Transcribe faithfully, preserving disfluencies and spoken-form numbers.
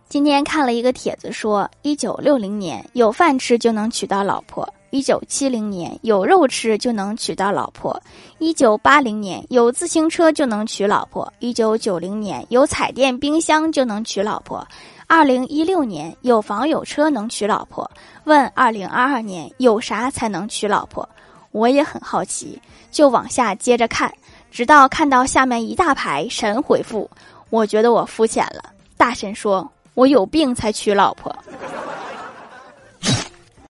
今天看了一个帖子说，一九六零年有饭吃就能娶到老婆，一九七零年有肉吃就能娶到老婆，一九八零年有自行车就能娶老婆，一九九零年有彩电冰箱就能娶老婆，二零一六年有房有车能娶老婆。问二零二二年有啥才能娶老婆？我也很好奇，就往下接着看，直到看到下面一大排神回复，我觉得我肤浅了。大神说，我有病才娶老婆。